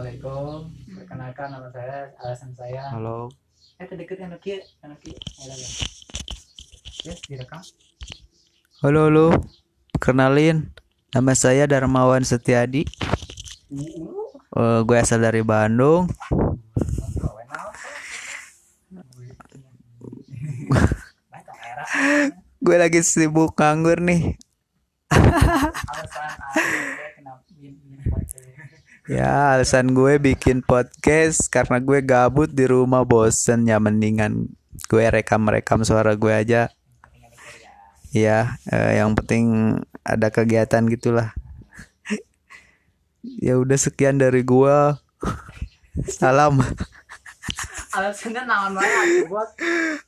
Assalamualaikum. Perkenalkan nama saya, alasan saya. Halo. Terdekat anak kia. Ya, direkam. Halo. Kenalin, nama saya Darmawan Setiadi. Gue asal dari Bandung. Gue lagi sibuk nganggur nih. Ya, alasan gue bikin podcast karena gue gabut di rumah, bosen ya, mendingan gue rekam suara gue aja. Ya, yang penting ada kegiatan gitulah. Ya udah, sekian dari gue. Salam. Alasannya naon wae buat